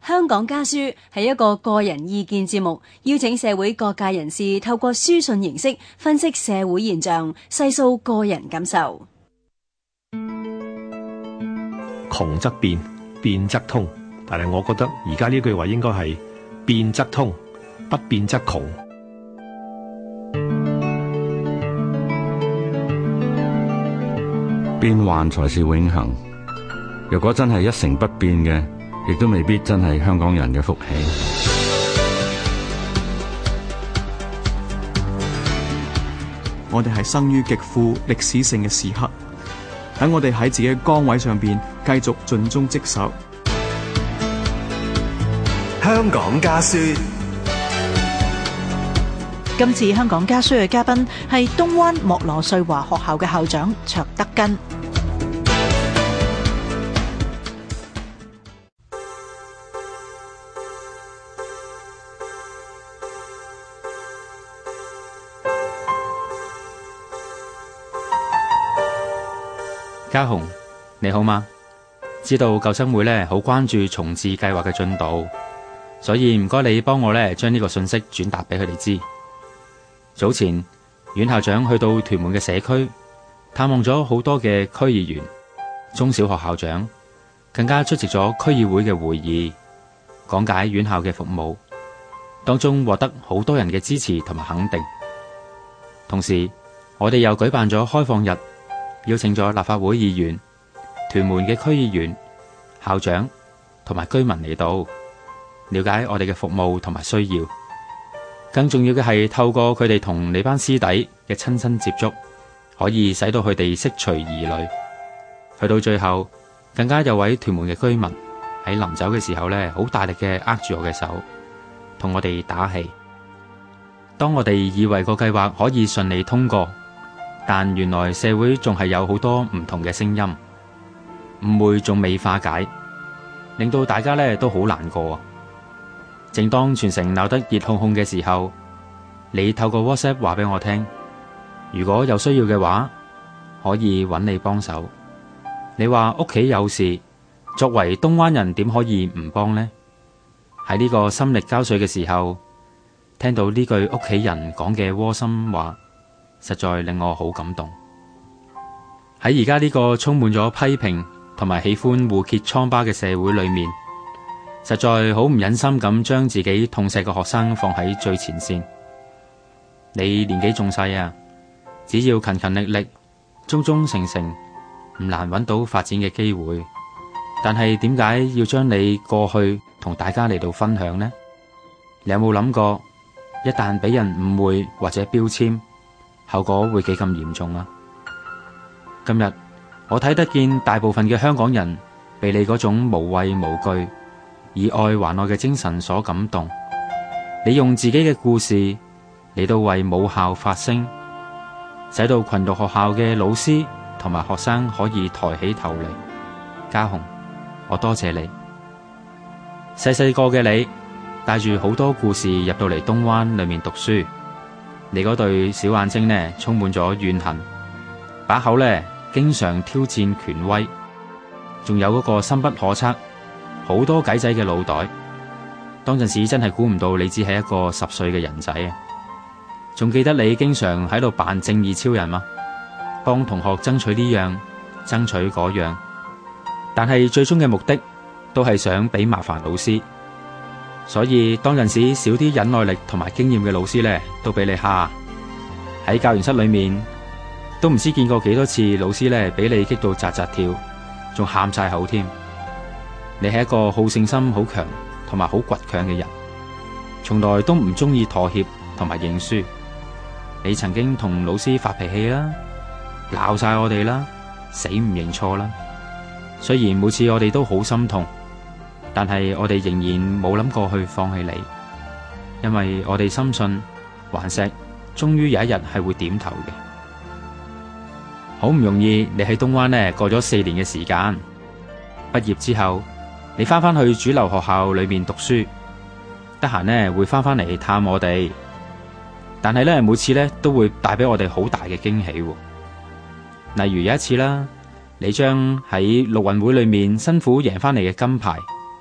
香港家書係一個個人意見節目，邀請社會各界人士透過書信形式分析社會現象，細數個人感受。 窮則變，變則通，但係我覺得而家呢句話應該係變則通，不變則窮。 變幻才是永恆，如果真係一成不變嘅，亦都未必真係香港人嘅福氣。 我哋係生於極富歷史性嘅時刻，等我哋喺自己嘅崗位上邊繼續盡忠職守。 香港家書。 今次香港家書嘅嘉賓係東灣莫羅瑞華學校嘅校長卓德根。 家雄，你好嗎？知道舊生會好關注重置計劃嘅進度，所以唔該你幫我將呢個信息轉達俾佢哋知。早前阮校長去到屯門嘅社區探望咗好多嘅區議員、中小學校長，更加出席咗區議會嘅會議，講解院校嘅服務，當中獲得好多人嘅支持同埋肯定。同時我哋又舉辦咗開放日，邀請咗立法會議員、屯門嘅區議員、校長同埋居民嚟到，了解我哋嘅服務同埋需要。更重要嘅係透過佢哋同你班師弟嘅親身接觸，可以使到佢哋釋除疑慮。去到最後，更加有位屯門嘅居民喺臨走嘅時候好大力嘅握住我嘅手，同我哋打氣。當我哋以為個計劃可以順利通過，但原來社會仲係有好多唔同嘅聲音，誤會仲未化解，令到大家都好難過。正當全城鬧得熱烘烘嘅時候，你透過 WhatsApp 話俾我聽，如果有需要嘅話，可以揾你幫手。你話屋企有事，作為東灣人點可以唔幫呢？喺呢個心力交瘁嘅時候，聽到呢句屋企人講嘅窩心話，實在令我好感動。喺而家呢個充滿咗批評同埋喜歡互揭瘡疤嘅社會裏面，實在好唔忍心咁將自己痛錫嘅學生放喺最前線。你年紀仲細啊，只要勤勤力力、忠忠誠誠，唔難揾到發展嘅機會。但係點解要將你過去同大家嚟到分享呢？你有冇諗過，一旦俾人誤會或者標籤，後果會幾咁嚴重啊？今日我睇得見大部分嘅香港人被你嗰種無畏無懼、以愛還愛嘅精神所感動。你用自己嘅故事嚟到為母校發聲，使到群讀學校嘅老師同埋學生可以抬起頭嚟。家雄，我多謝你。細細個嘅你帶住好多故事入到嚟東灣裏面讀書，你嗰對小眼睛充滿咗怨恨，把口經常挑戰權威，仲有嗰個深不可測、好多計仔嘅腦袋。當陣時真係估唔到你只係一個10歲嘅人仔啊！仲記得你經常喺度扮正義超人嗎？幫同學爭取呢樣，爭取嗰樣，但係最終嘅目的都係想俾麻煩老師。所以當陣時少啲忍耐力同埋經驗嘅老師都俾你蝦。喺教研室裏面都唔知見過幾多次老師俾你激到扎扎跳，仲喊晒口添。你係一個好勝心好強同埋好倔強嘅人，從來都唔中意妥協同埋認輸。你曾經同老師發脾氣啦，鬧晒我哋啦，死唔認錯啦。雖然每次我哋都好心痛，但係我哋仍然冇諗過去放棄你，因為我哋深信頑石終於有一日係會點頭嘅。好唔容易你喺東灣過咗4年嘅時間，畢業之後你翻去主流學校裏面讀書，得閒會翻嚟探我哋，但係每次都會帶俾我哋好大嘅驚喜。例如有一次啦，你將喺陸運會裏面辛苦贏翻嚟嘅金牌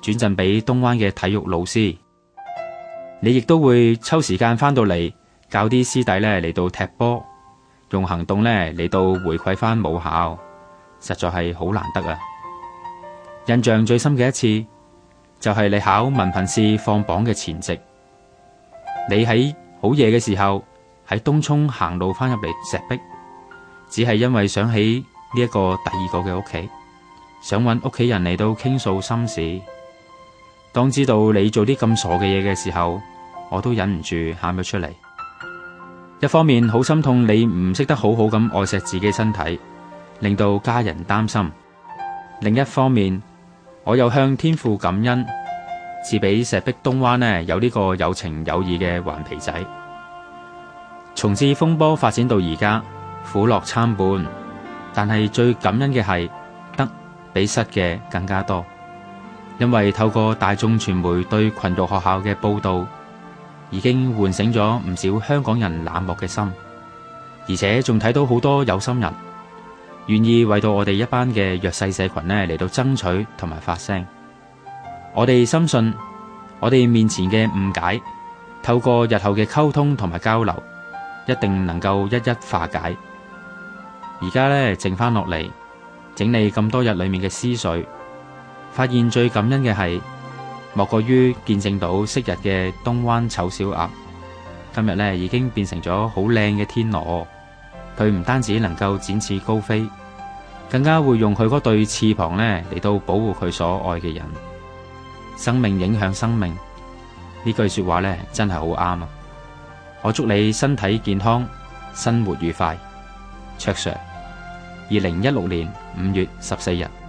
轉贈俾東灣嘅體育老師。你亦都會抽時間返到嚟教啲師弟呢嚟到踢波，用行動呢嚟到回饋返母校，實在係好難得啊！印象最深嘅一次就係你考文憑試放榜嘅前夕，你喺好夜嘅時候喺東涌行路返入嚟石壁，只係因為想起呢一個第二個嘅屋企，想搵屋企人嚟到傾訴心事。當知道你做啲咁傻嘅嘢嘅時候，我都忍唔住喊咗出嚟。一方面好心痛你唔識得好好咁愛錫自己身體，令到家人擔心；另一方面，我又向天父感恩，賜俾石壁東灣呢有呢個有情有義嘅頑皮仔。從此風波發展到而家，苦樂參半，但係最感恩嘅係得比失嘅更加多，因為透過大眾傳媒對群育學校嘅報道，已經喚醒咗唔少香港人冷漠嘅心，而且仲睇到好多有心人願意為到我哋一班嘅弱勢社群呢嚟到爭取同埋發聲。我哋深信我哋面前嘅誤解，透過日後嘅溝通同埋交流，一定能夠一一化解。而家呢，剩翻落嚟整理咁多日裏面嘅思緒，發現最感恩嘅係莫過於見證到昔日嘅東灣醜小鴨，今日呢已經變成咗好靚嘅天鵝。佢唔單止能夠展翅高飛，更加會用佢嗰對翅膀呢嚟到保護佢所愛嘅人。生命影響生命，呢句說話呢真係好啱啊！我祝你身體健康，生活愉快。卓 Sir，2016年5月14日。